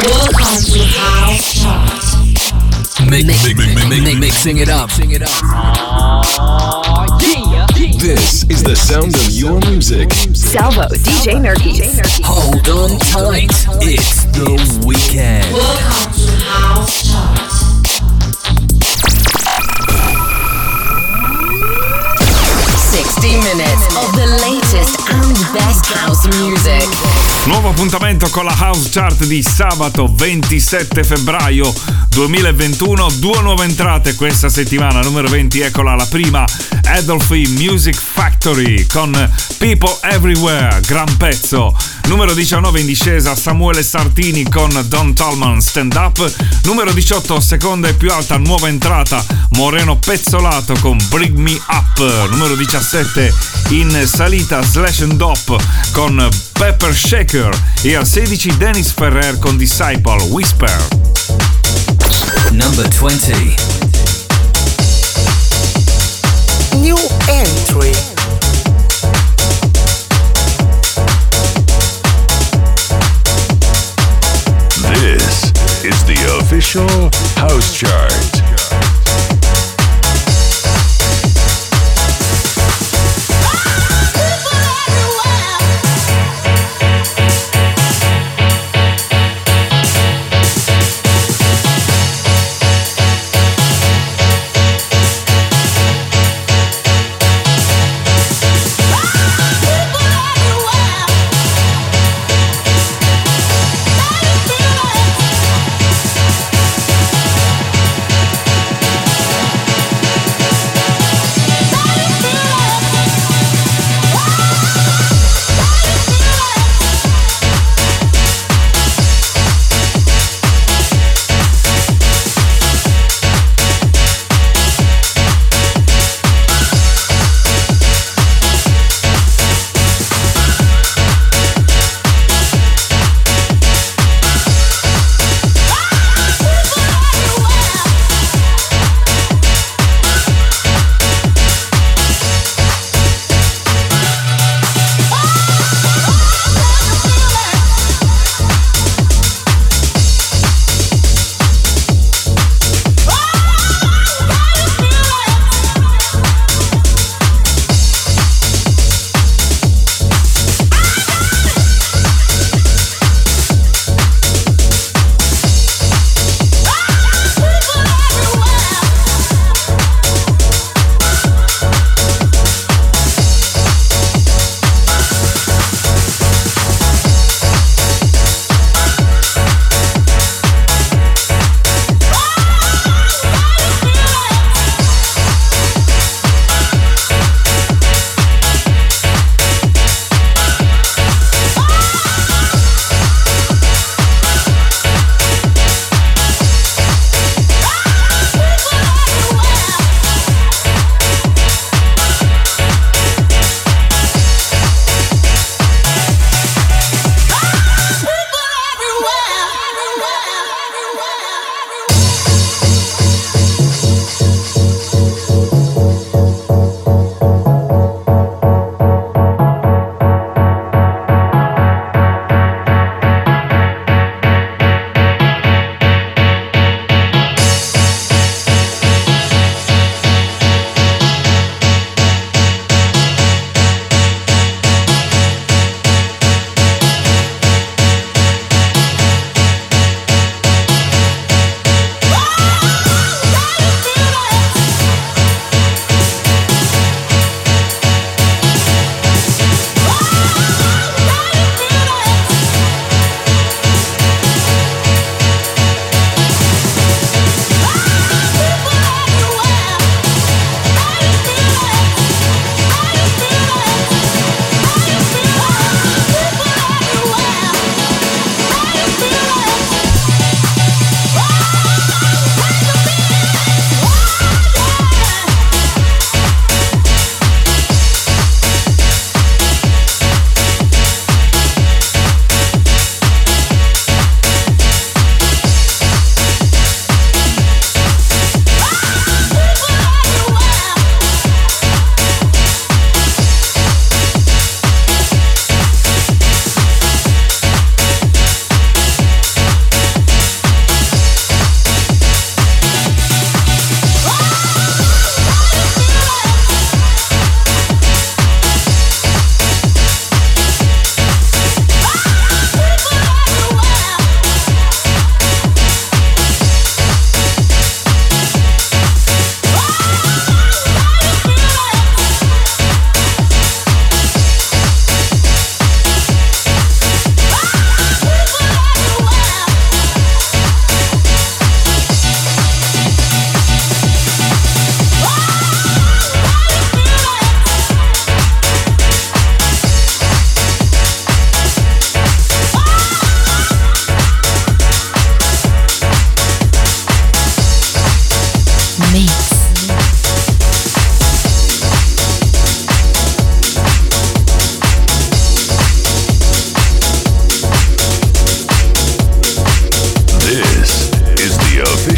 Welcome to House Chart. Mixing it up. This is the sound of your music. Salvo, DJ Nerkis. Hold on tight. It's the weekend. Welcome to House Chart. 60 minutes of the latest and best house music. Nuovo appuntamento con la House Chart di sabato 27 febbraio 2021. Due nuove entrate questa settimana. Numero 20, eccola la prima, Adolphe Music Factory con People Everywhere, gran pezzo. Numero 19 in discesa, Samuele Sartini con Don Tallman Stand Up. Numero 18, seconda e più alta nuova entrata, Moreno Pezzolato con Bring Me Up. Numero 17 in salita, Slash and Dop con Pepper Shaker. E al 16 Dennis Ferrer con Disciple Whisper. Number 20. New entry. This is the official House Chart.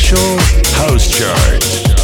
official house chart.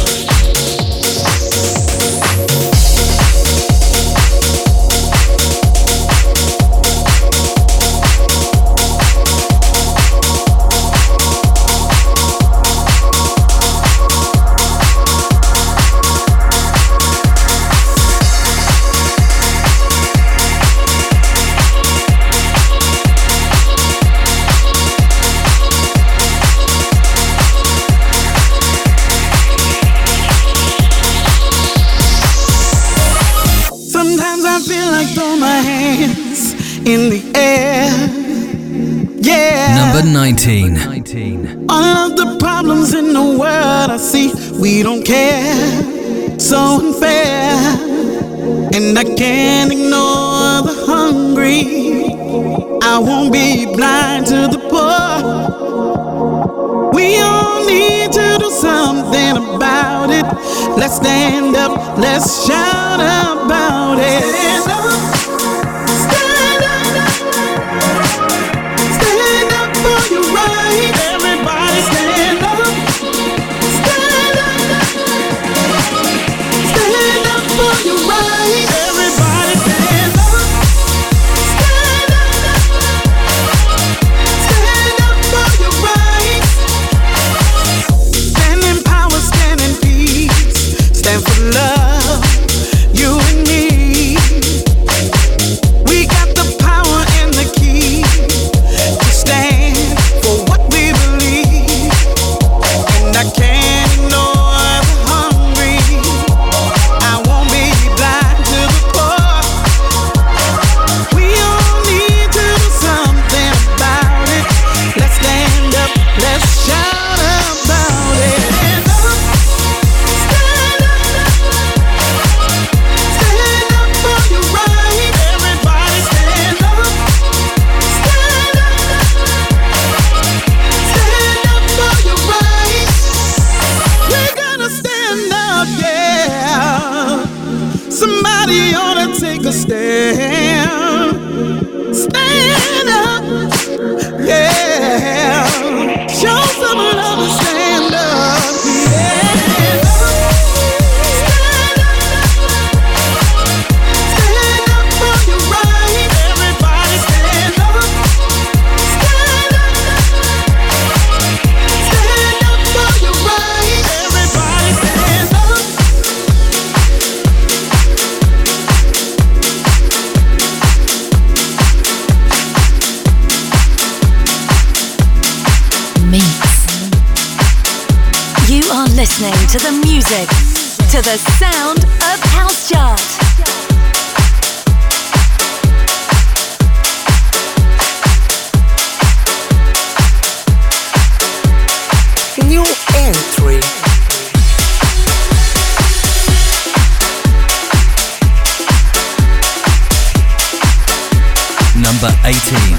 In the air, yeah. Number 19. All of the problems in the world I see, we don't care. So unfair, and I can't ignore the hungry. I won't be blind to the poor. We all need to do something about it. Let's stand up, let's shout about it. Stand up. Everybody stand up. Stand up. Stand up for your right. Everybody stand up. Stand up. Stand up for your right. Stand in power, stand in peace. Stand for love, you and me. We got the power and the key to stand for what we believe, and I can't ignore the hungry. I won't be blind to the poor. We all need to do something about it. Let's stand up, let's shout about it. Stand up, stand up, stand up for your right. Everybody stand up, stand up. Stand up for your rights. We're gonna stand up, yeah. Somebody ought to take a stand. Stand up, yeah. Show some love and stand up, yeah. Stand up for your right. Everybody stand up. Stand up. Stand up for your right. Everybody stand up. Mix. You are listening to the music, to the sound of House Chart. New entry. Number 18.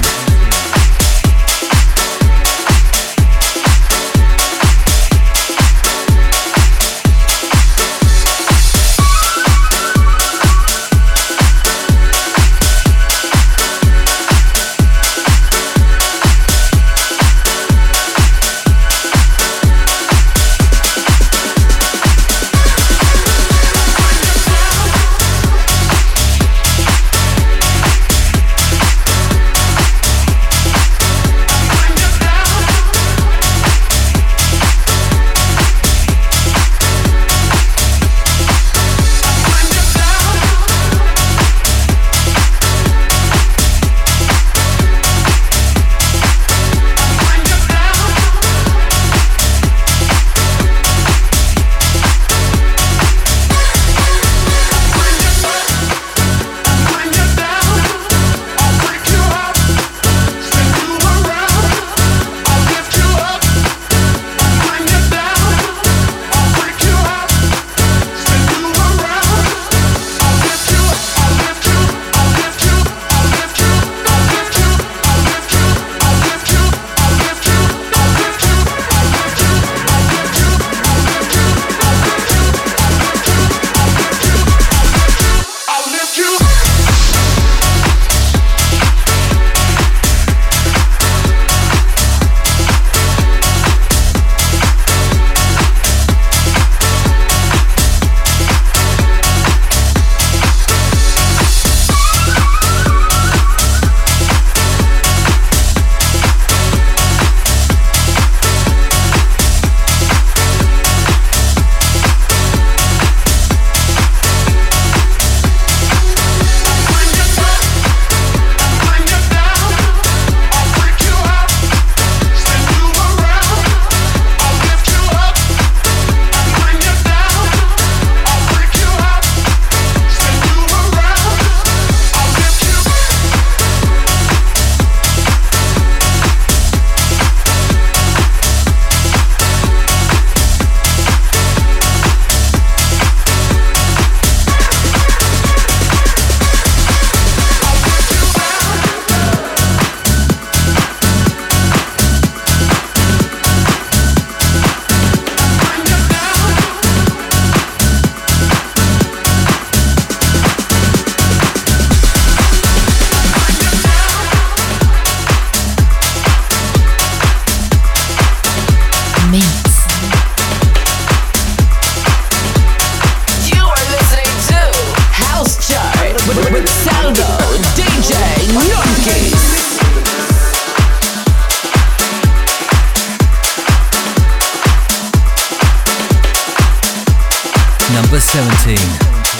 Number 17.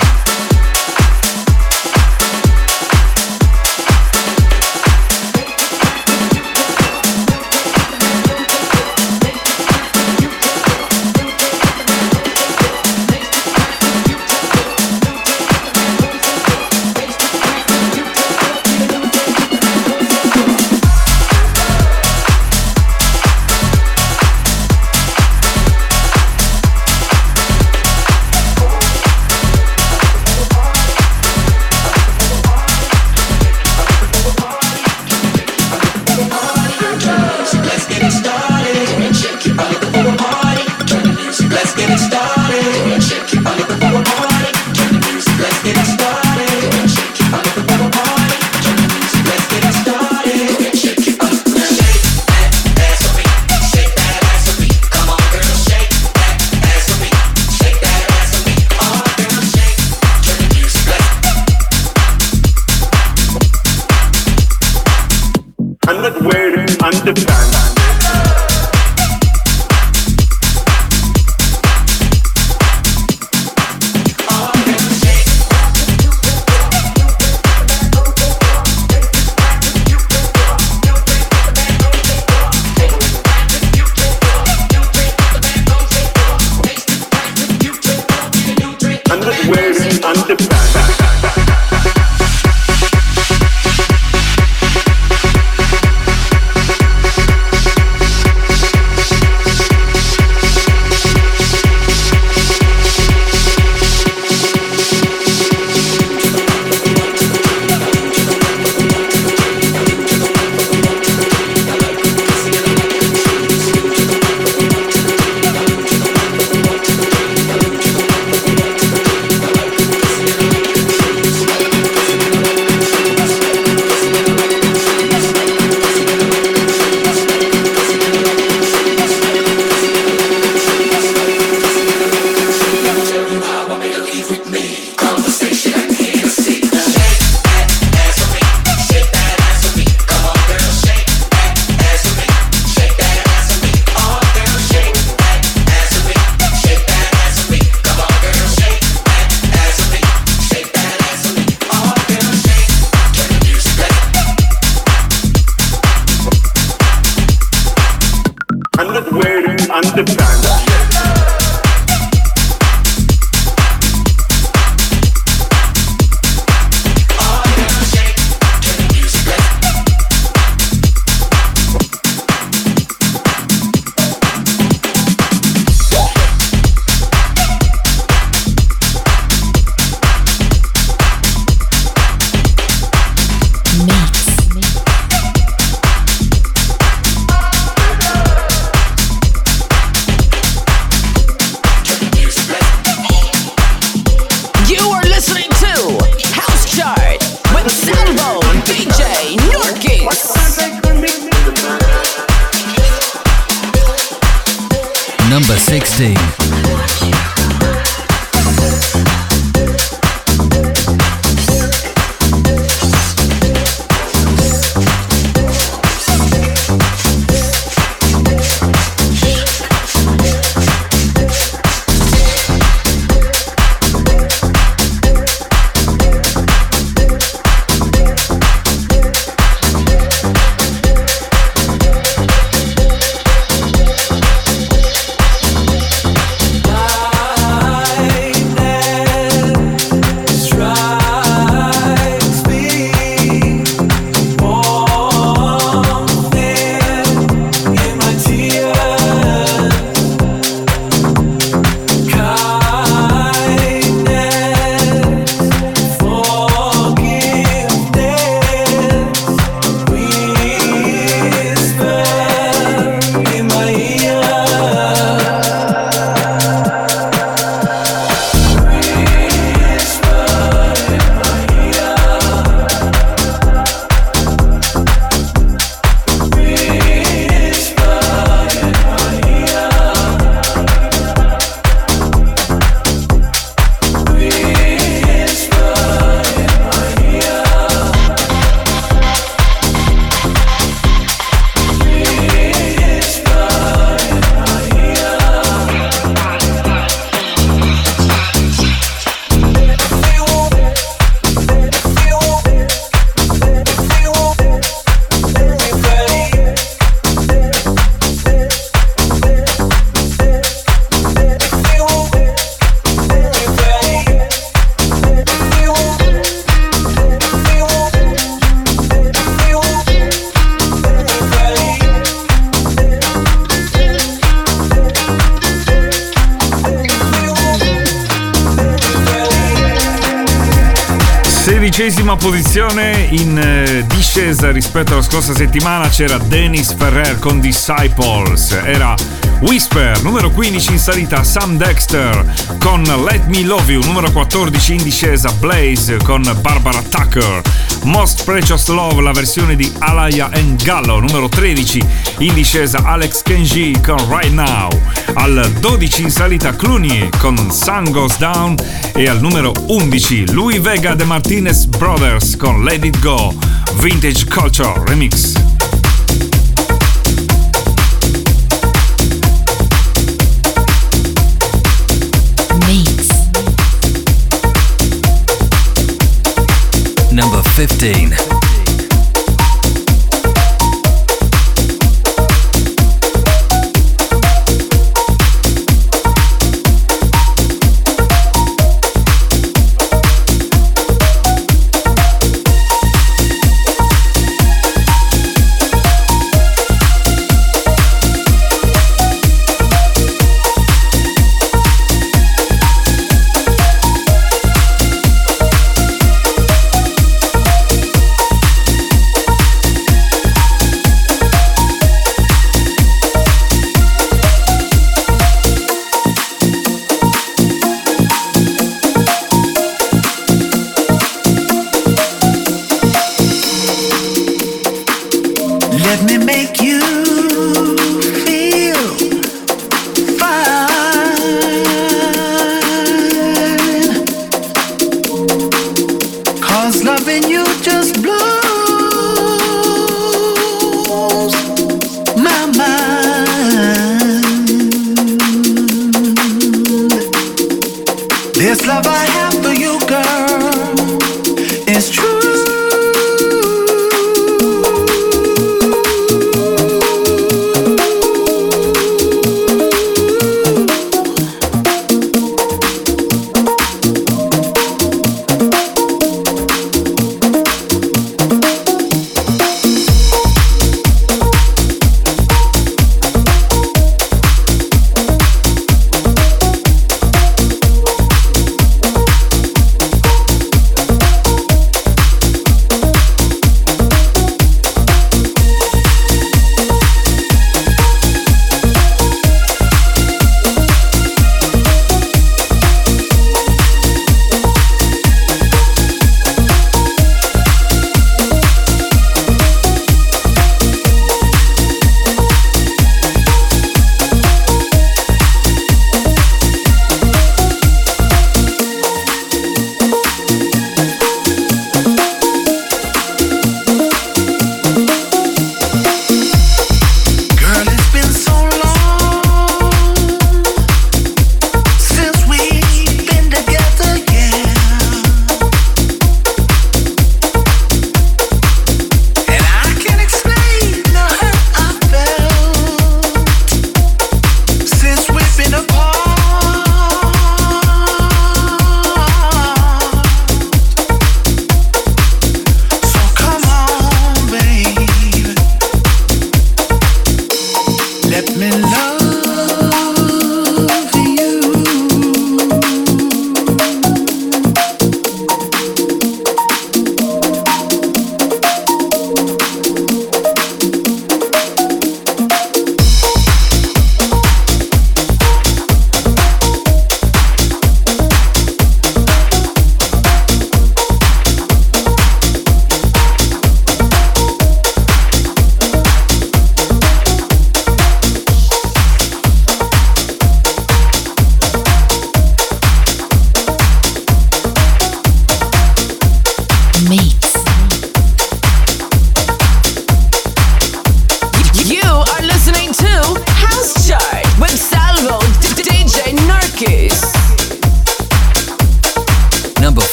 Number 16. 16ª posizione, in discesa rispetto alla scorsa settimana c'era Dennis Ferrer con Disciples, era Whisper. Numero 15 in salita Sam Dexter con Let Me Love You. Numero 14 in discesa Blaze con Barbara Tucker, Most Precious Love, la versione di Alaya and Gallo. Numero 13 in discesa Alex Kenji con Right Now. Al 12 in salita Clooney con Sun Goes Down e al numero 11 Louis Vega de Martinez Brothers con Let It Go, Vintage Culture Remix. Number 15.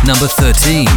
Number 13.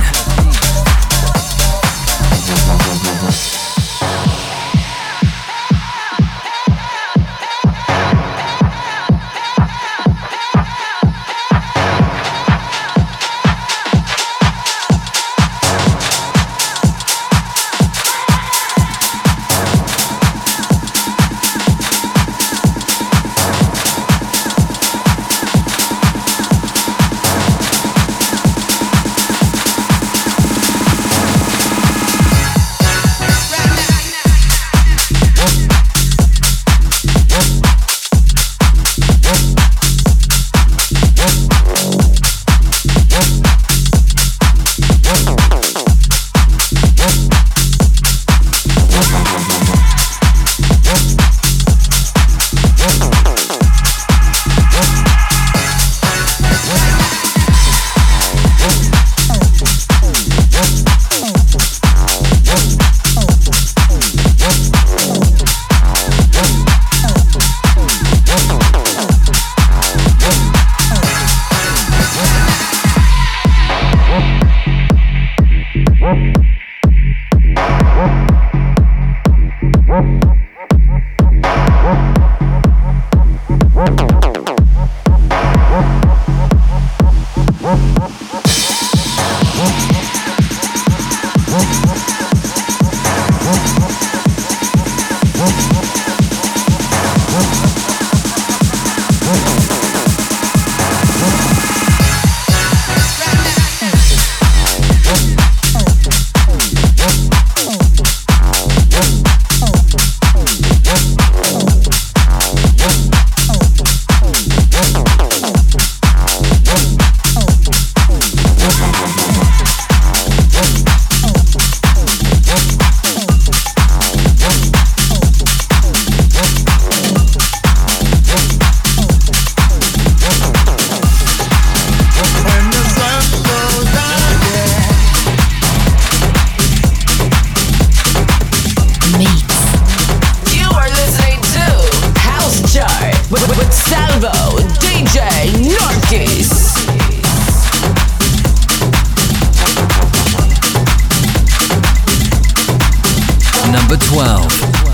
Number 12.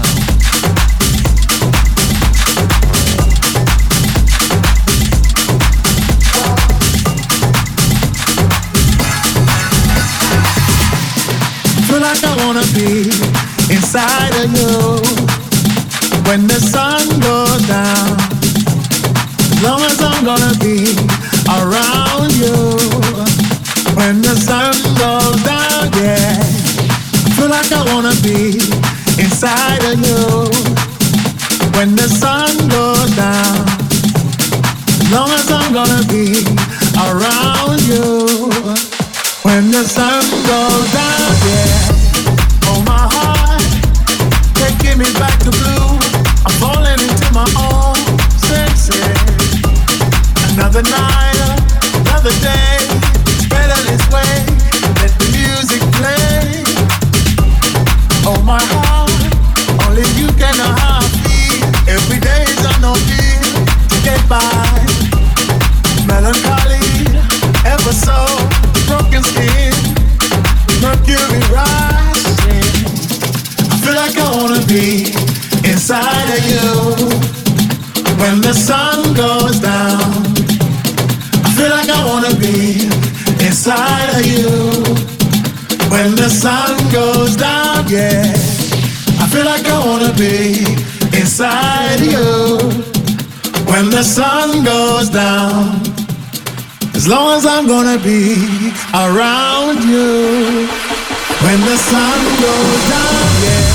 Feel like I wanna be inside of you when the sun goes down. As long as I'm gonna be around you when the sun goes down, yeah. Feel like I wanna be inside of you when the sun goes down. As long as I'm gonna be around you when the sun goes down, yeah. Oh, my heart can't give me back to blue. I'm falling into my own senses. Another night, another day. It's better this way. Let the music play. Oh, my heart, only you can know how I feel. Every day is on no feel to get by. Melancholy, ever so broken skin, mercury rising. I feel like I wanna be inside of you when the sun goes down. I feel like I wanna be inside of you when the sun goes down, yeah. I feel like I wanna be inside of you when the sun goes down. As long as I'm gonna be around you when the sun goes down, yeah.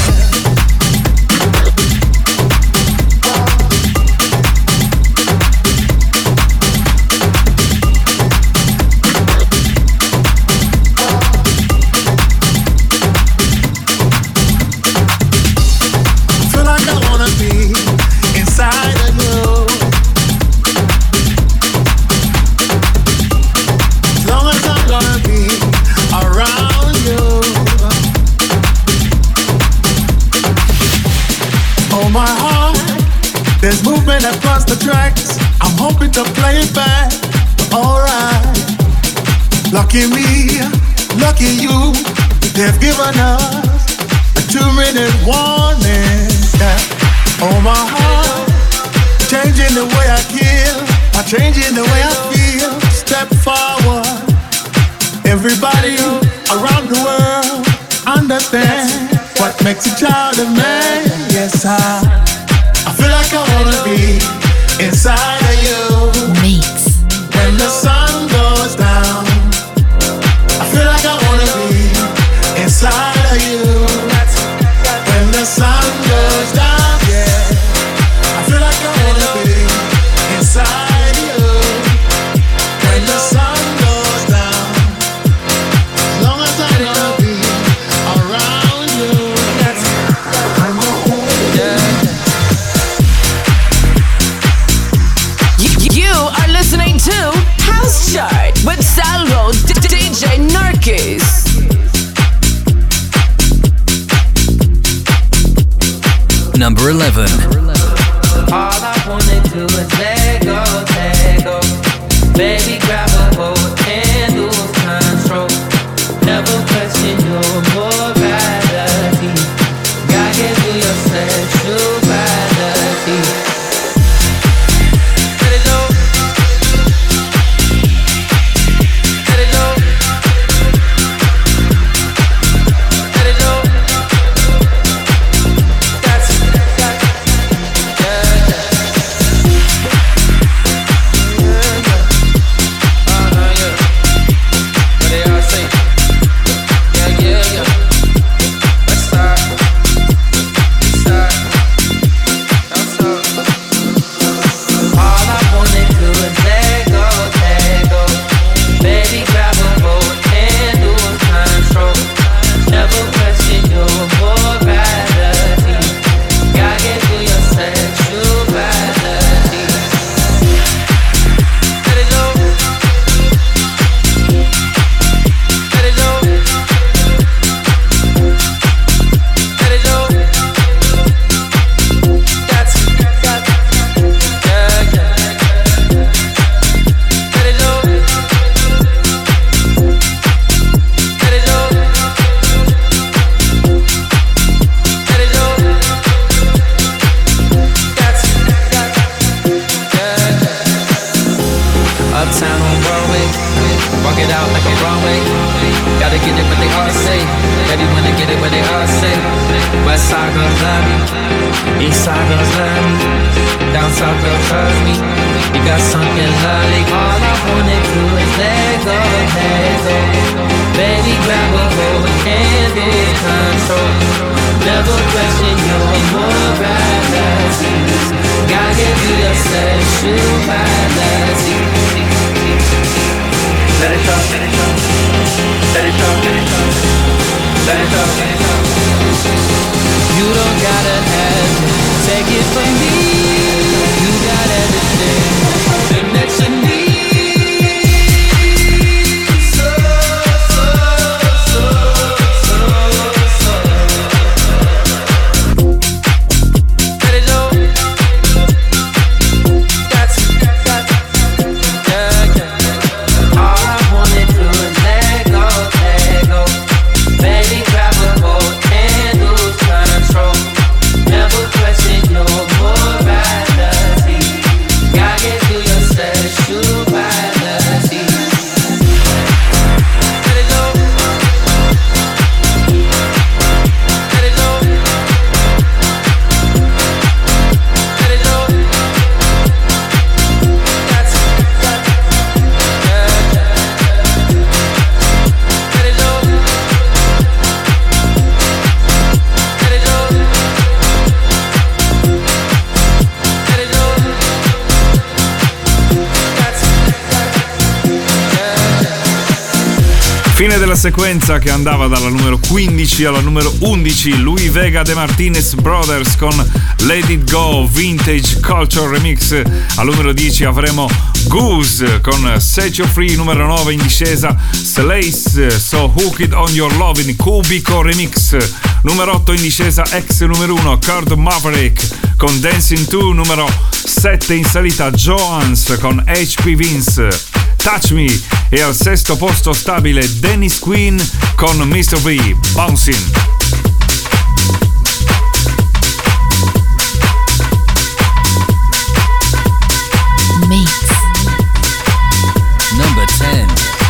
There's movement across the tracks. I'm hoping to play it back, alright. Lucky me, lucky you, they've given us a 2-minute warning. Yeah. Oh my heart, changing the way I kill, changing the way I feel. Step forward, everybody around the world understand what makes a child a man. Yes, I feel like I wanna be inside of you. Mix. When the sun goes down, I feel like I wanna be inside of you. When the sun goes down, yeah, I feel like I wanna be inside you. When the sun goes down, as long as I'm gonna be around you. You are listening to House Chart with Salvo DJ Narkis. Number 11. All I wanna do is let go. Baby, grab a hold and lose control. Never question your morality. God gave you your sexuality. Let it go. Let it go. Let it go. That's Fine della sequenza che andava dalla numero 15 alla numero 11, Louis Vega The Martinez Brothers con Let It Go Vintage Culture Remix. Al numero 10 avremo Goose con Set You Free. Numero 9 in discesa Slace So Hooked On Your Love in Cubico Remix. Numero 8 in discesa ex numero 1 Kurt Maverick con Dancing 2. Numero 7 in salita Joans con HP Vince. Touch Me, e al sesto posto stabile Dennis Quinn con Mr. V, Bouncing. Mix. Number 10.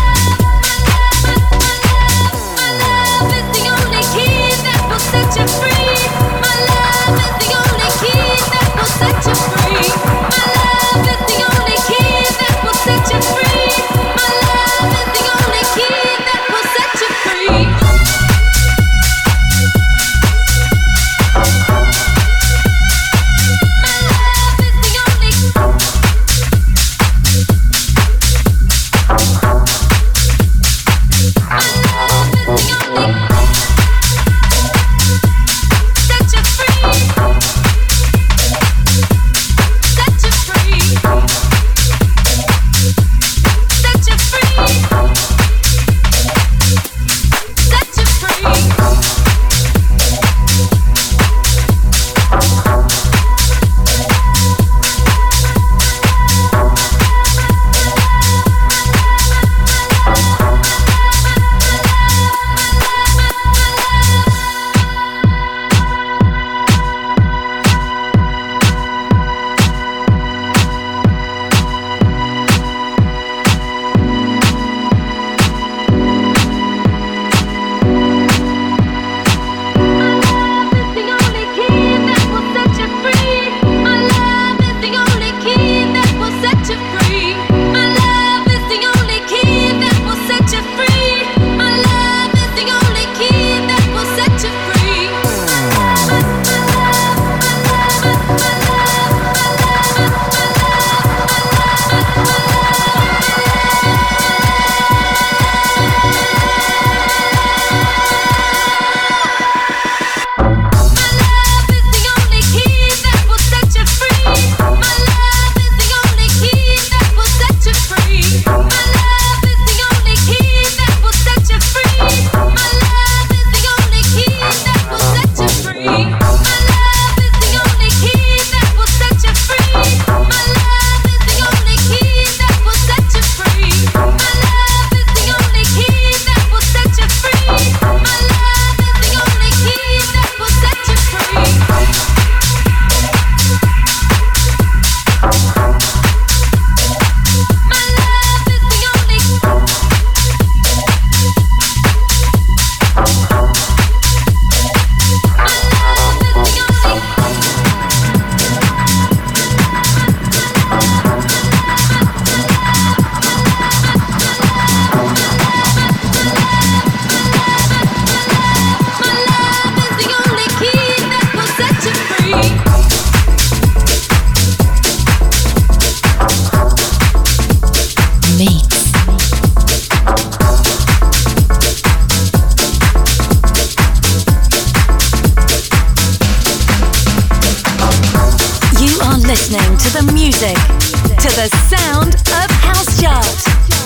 listening to the music, to the sound of House Chart.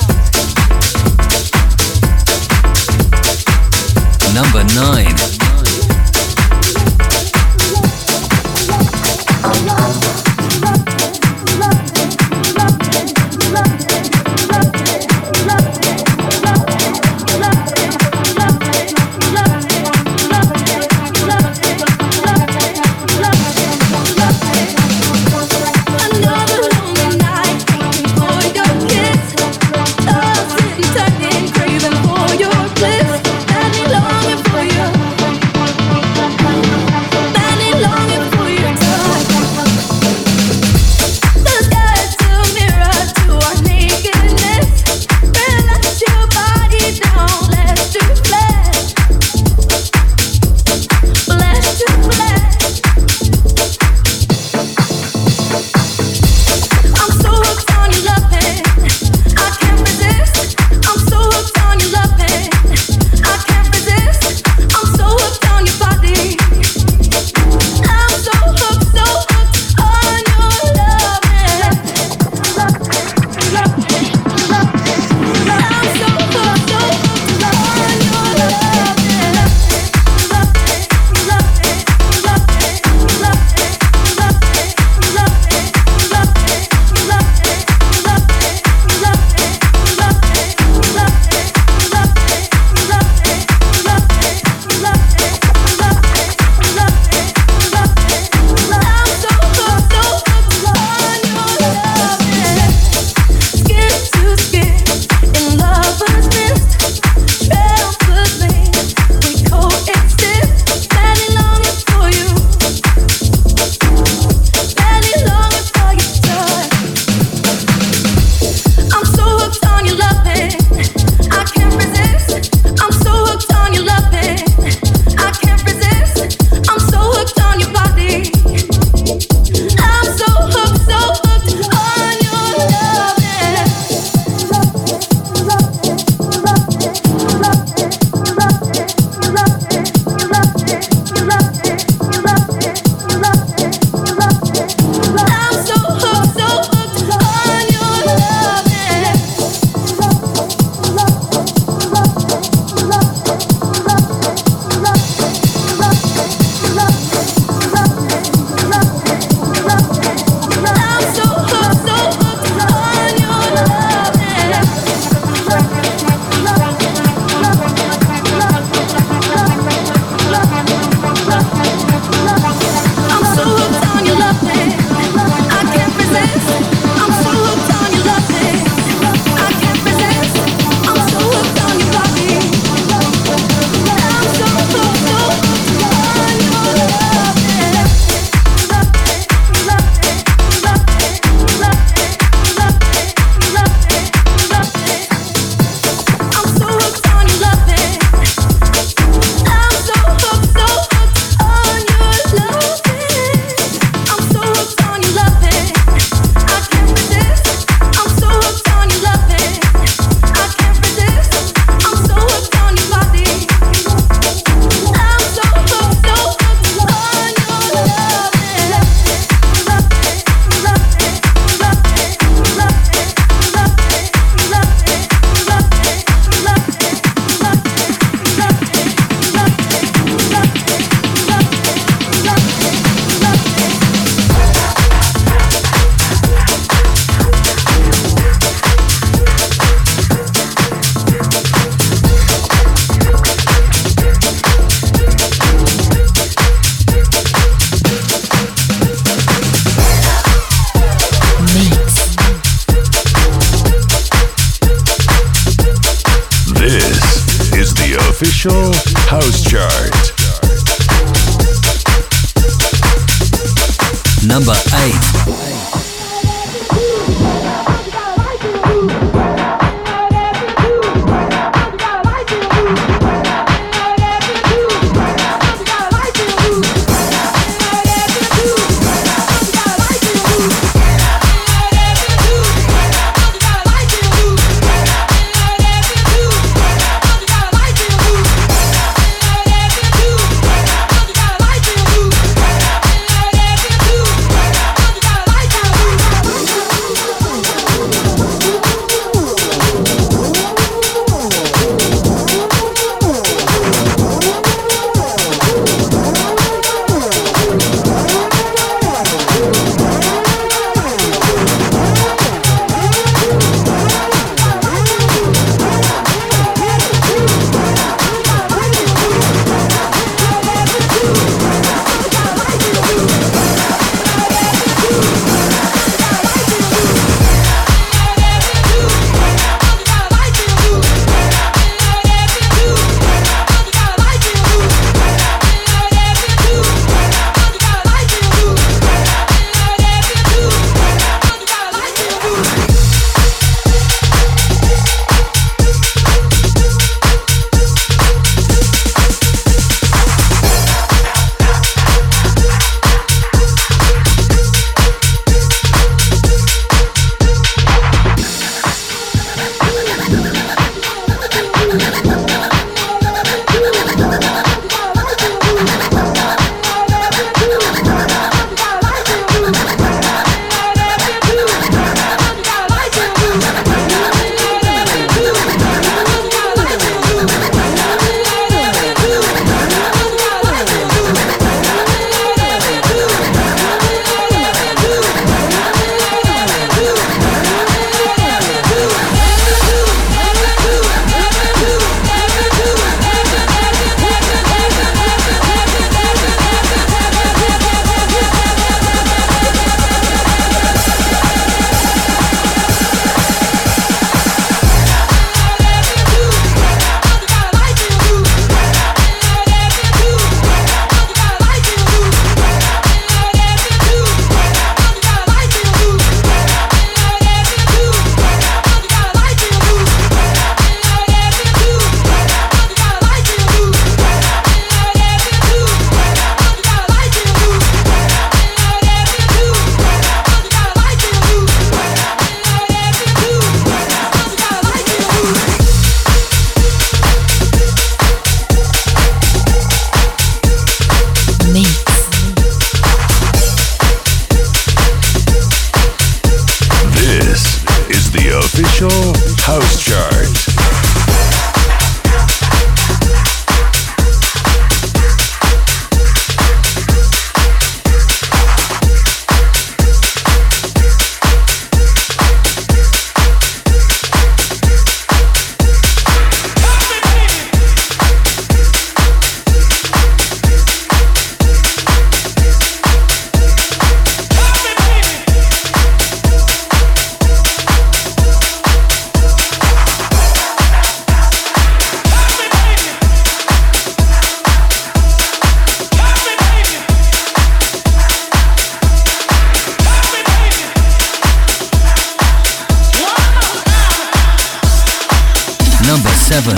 Number 9. official house chart. Number 8. House Chart. Number 7.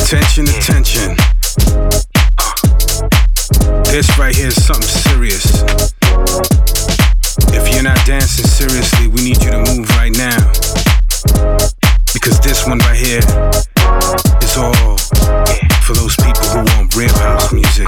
Attention, attention. This right here is something serious. If you're not dancing seriously, we need you to move right now. Because this one right here is all for those people who want real house music.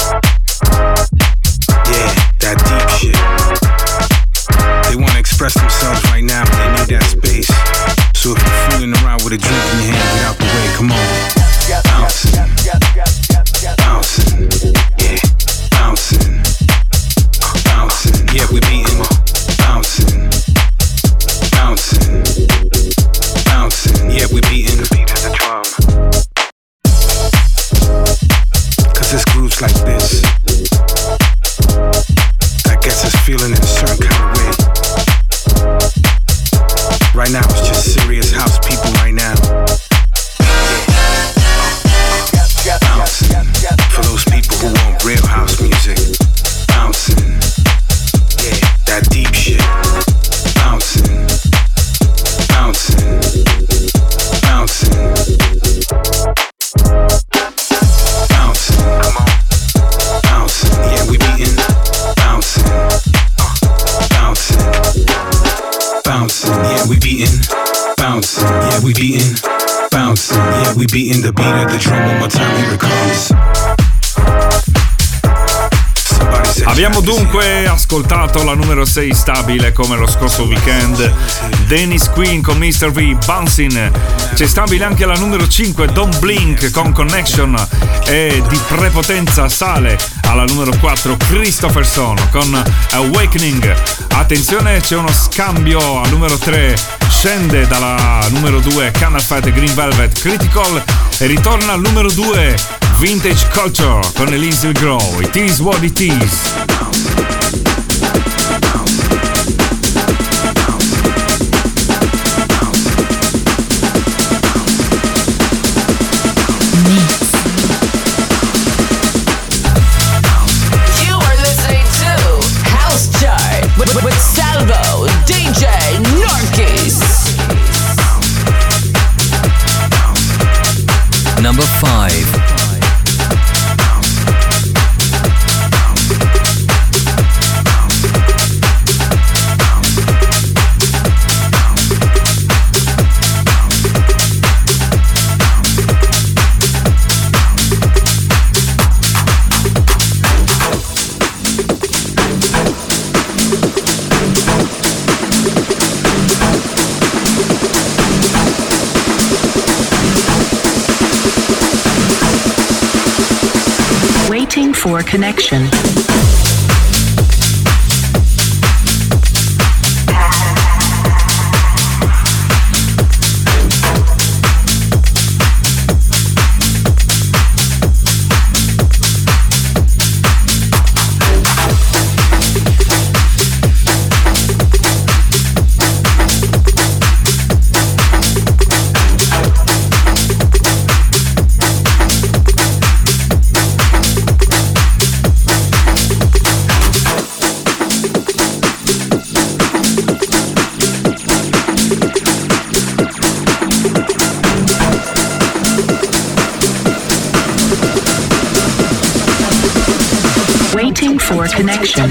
Yeah, that deep shit. They want to express themselves right now, but they need that space. So if you're fooling around with a drink in your hand, get out the way, come on. Bouncing, bouncing, yeah, bouncing, bouncing, yeah, we beating, bouncing, bouncing, bouncing, yeah, we beating the beat of the drum. Cause this groove's like this, that gets us feeling in a certain kind of way. Right now it's just serious house people right now. Bouncing, for those people who want real house music. Bouncing, yeah, that deep shit. Bouncing, bouncing, bouncing, bouncing, come on, bouncing, yeah, we beating, bouncing, bouncing, bouncing, yeah, we beating, bouncing, yeah, we beating, bouncing, yeah, we beating the beat of the drum one more time, here it comes. Abbiamo dunque ascoltato la numero 6 stabile come lo scorso weekend, Dennis Queen con Mr. V, Bouncing. C'è stabile anche la numero 5, Don't Blink con Connection, e di prepotenza sale alla numero 4 Christopherson con Awakening. Attenzione, c'è uno scambio al numero 3, scende dalla numero 2 Cannot Fight Green Velvet Critical e ritorna al numero 2 Vintage Culture con Elise Grow. It is what it is. With Salvo, DJ Narkis. Number 5. Waiting for connection. Waiting for connection.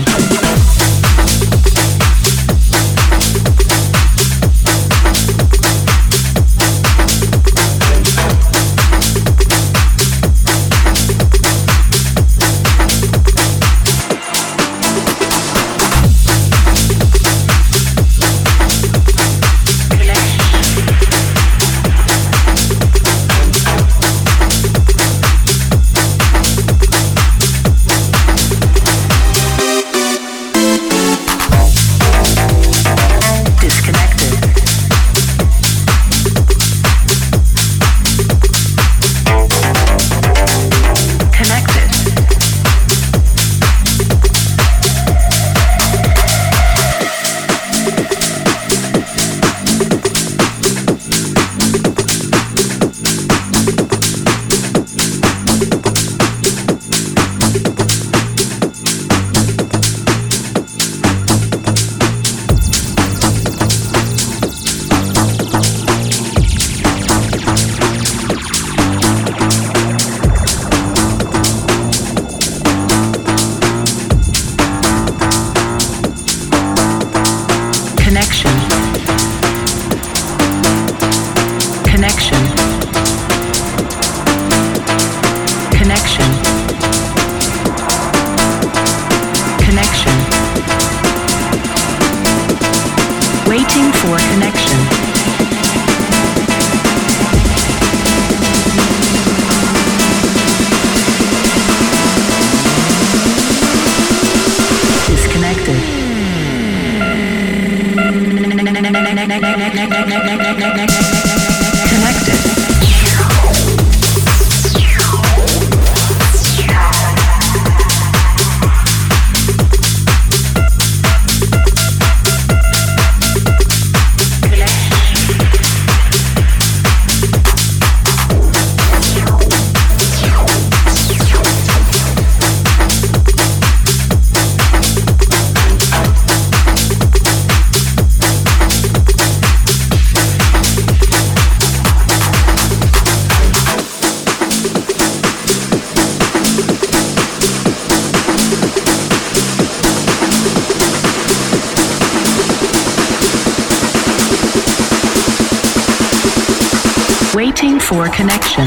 Waiting for connection.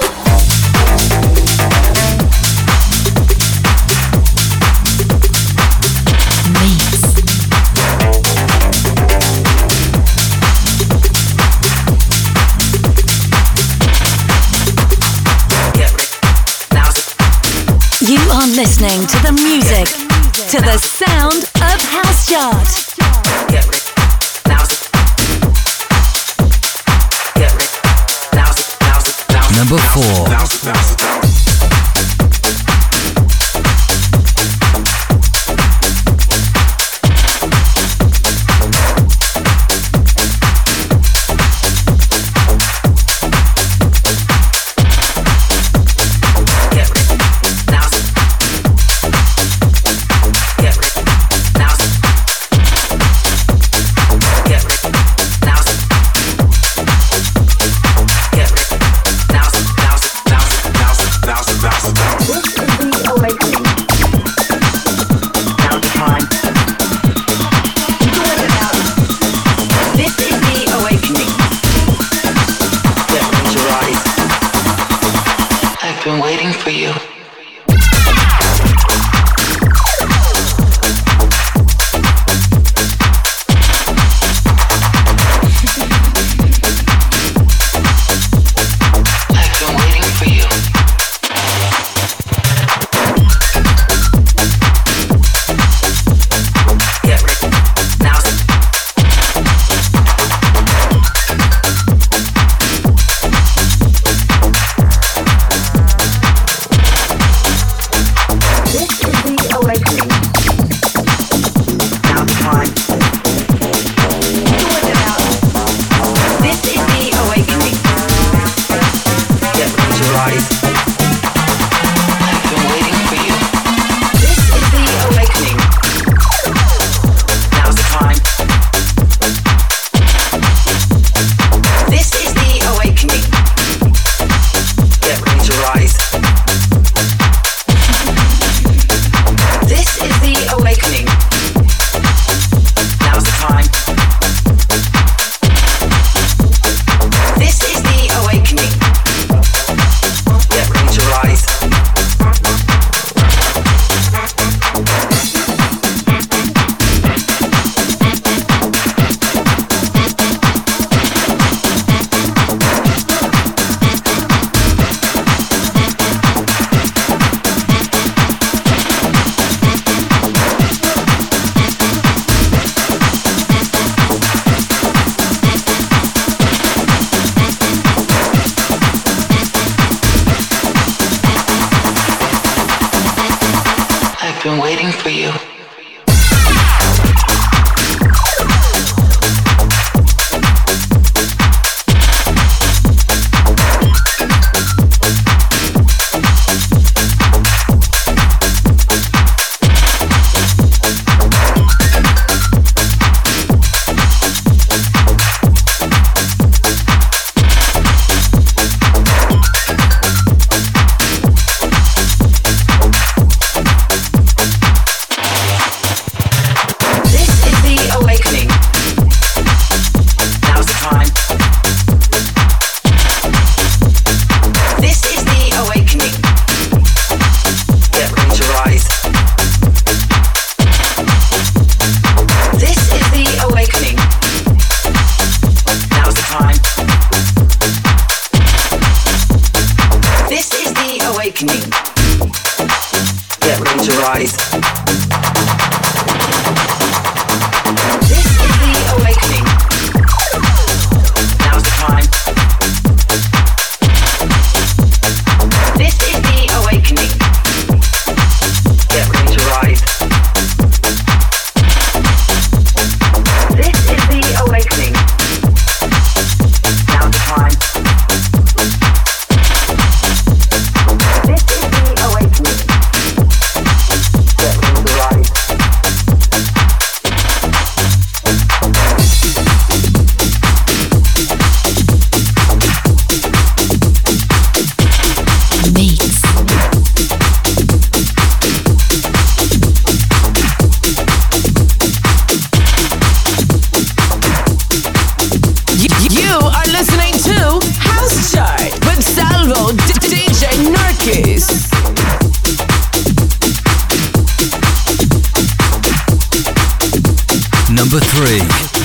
You are listening to the music, to the sound of House Chart. Number 4. been waiting for you. 3.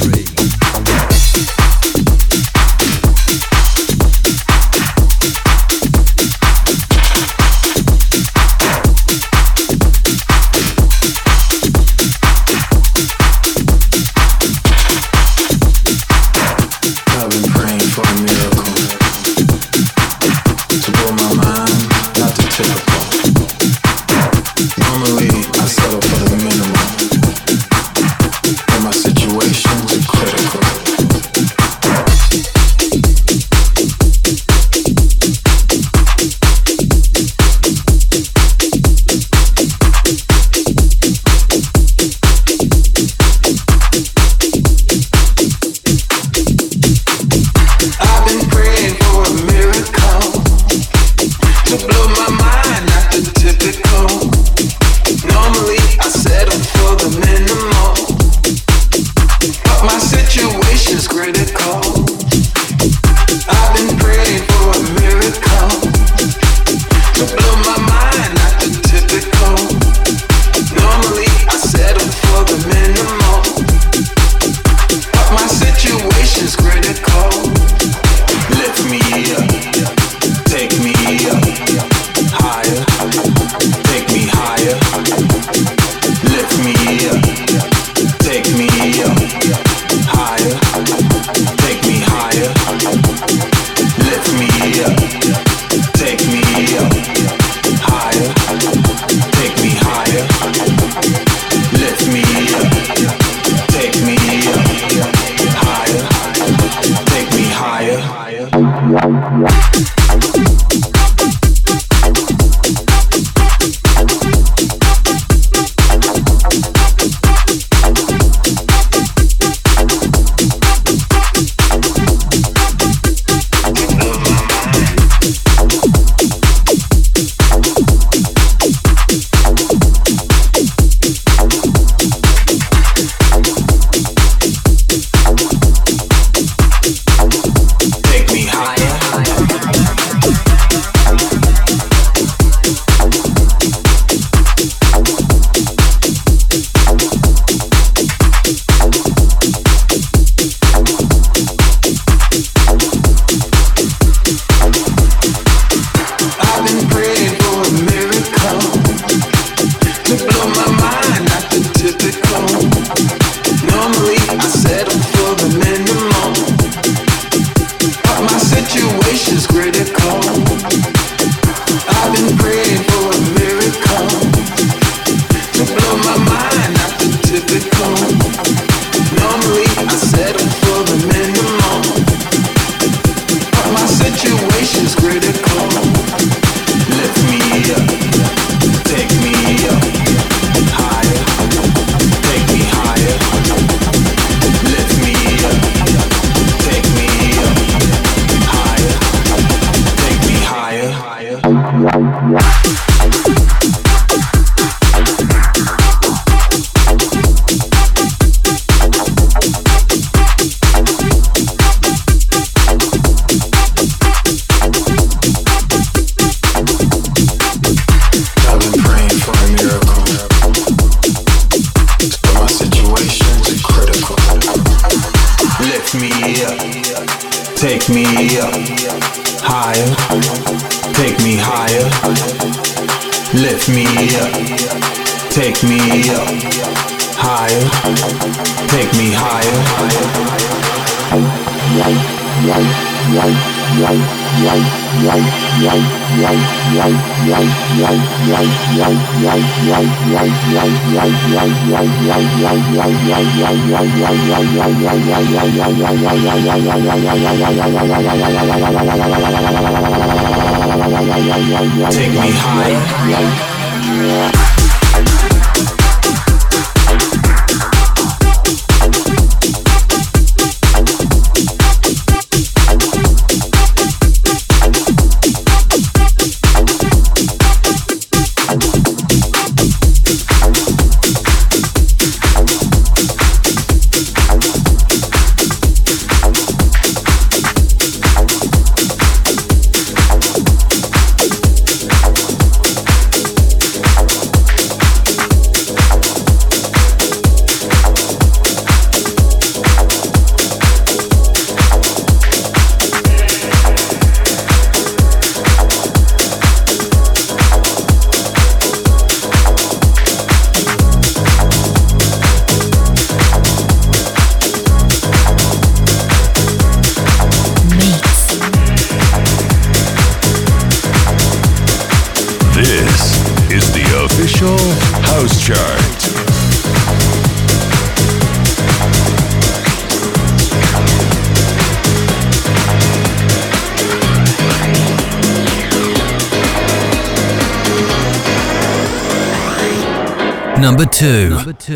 Take me higher. This is the official House Chart. Number 2.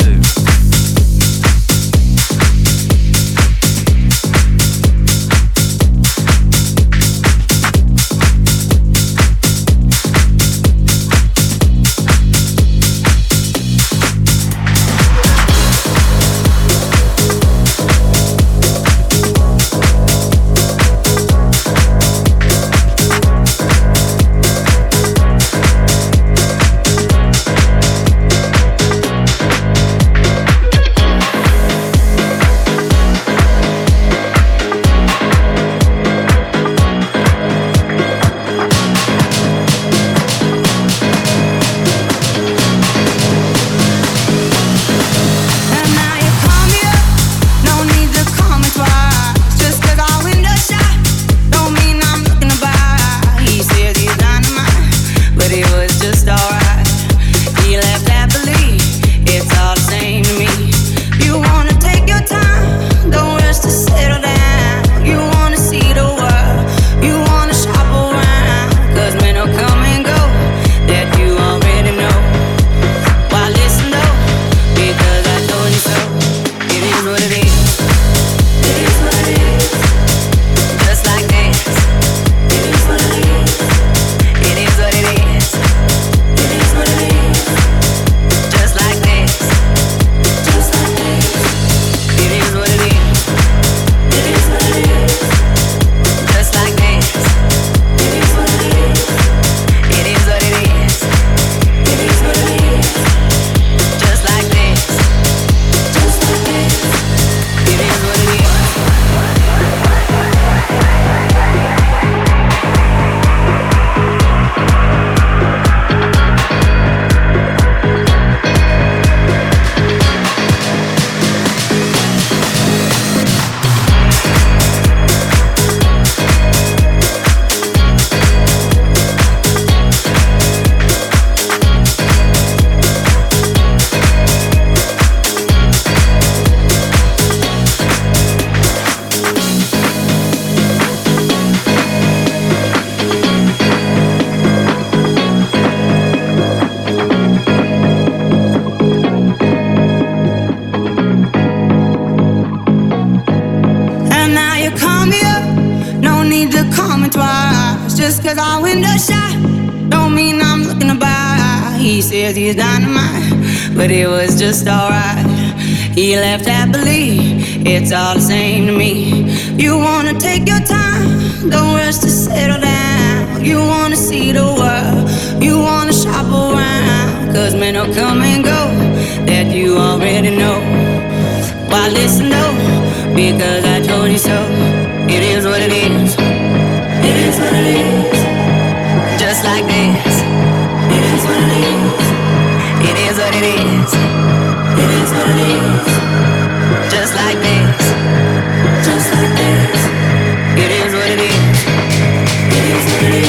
He's dynamite, but it was just alright. He left happily, it's all the same to me. You wanna take your time, don't rush to settle down. You wanna see the world, you wanna shop around. Cause men will come and go, that you already know. Why listen though, because I told you so. It is what it is, it is what it is. Just like this, it is what it is. It is what it is. It is what it is. Just like this. Just like this. It is what it is. It is what it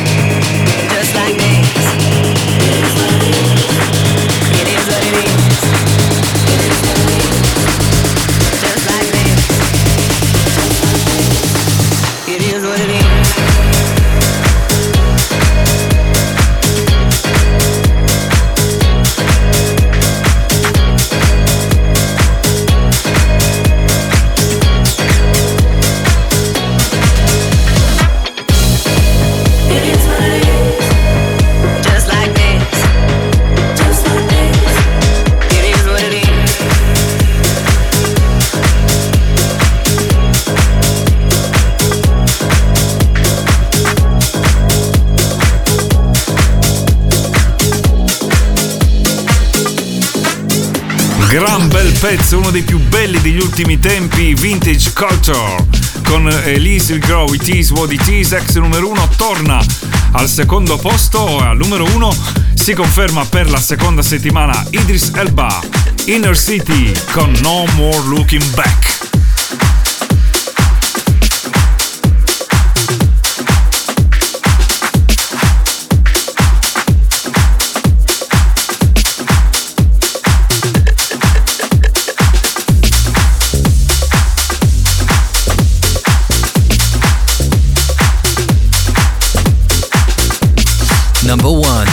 is. Just like this. It is what it is. It is what it is. It is what it is. Just like this. Just like this. It is what it is. Gran bel pezzo, uno dei più belli degli ultimi tempi, Vintage Culture, con Elise Grow, It Is What It Is, ex numero 1, torna al secondo posto e al numero 1 si conferma per la seconda settimana Idris Elba, Inner City con No More Looking Back. number 1.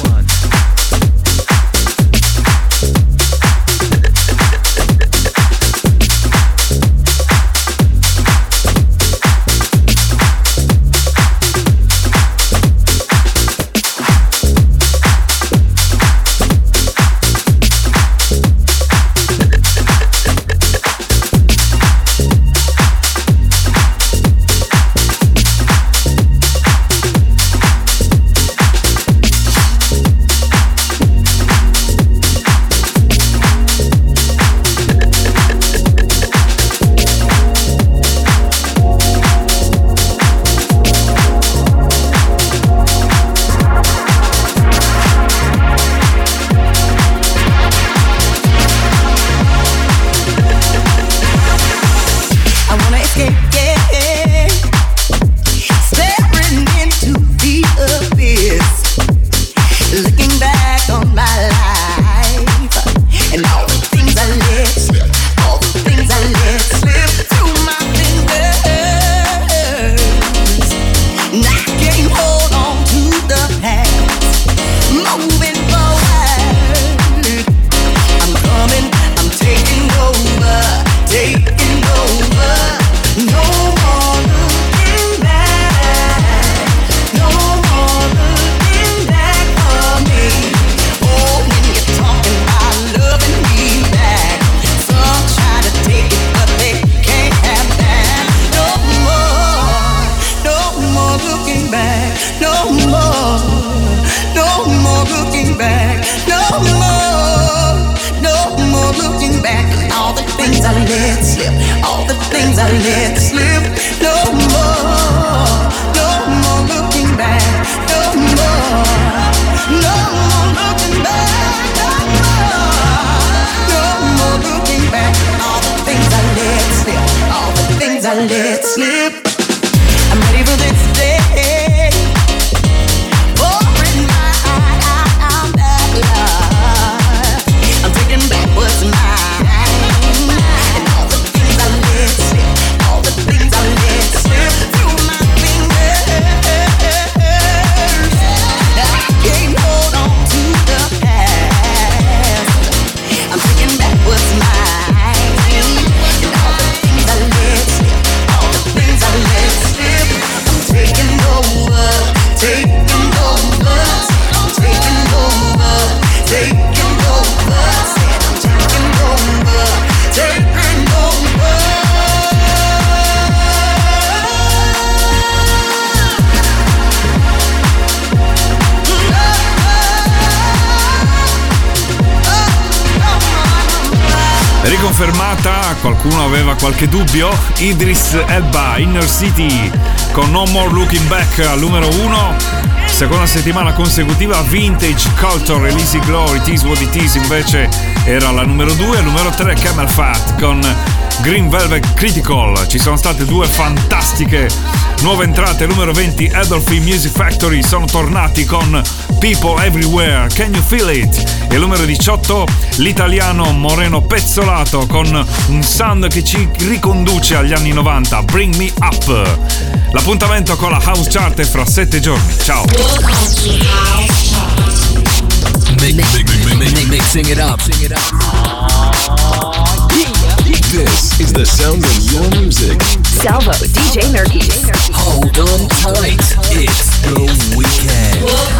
Riconfermata, qualcuno aveva qualche dubbio? Idris Elba, Inner City con No More Looking Back al numero 1. Seconda settimana consecutiva Vintage Culture, Easy Glory, It Is What It Is invece era la numero 2. Al numero 3 Camel Fat con Green Velvet Critical. Ci sono state due fantastiche nuove entrate. Al numero 20 Adolphe Music Factory sono tornati con People Everywhere, Can You Feel It? E al numero 18 l'italiano Moreno Pezzolato con un sound che ci riconduce agli anni 90, Bring Me Up. L'appuntamento con la House Chart è fra 7 giorni. Ciao. Mixing it up. This is the sound of your music. Salvo, DJ Nurkis. Hold on tight. It's the weekend.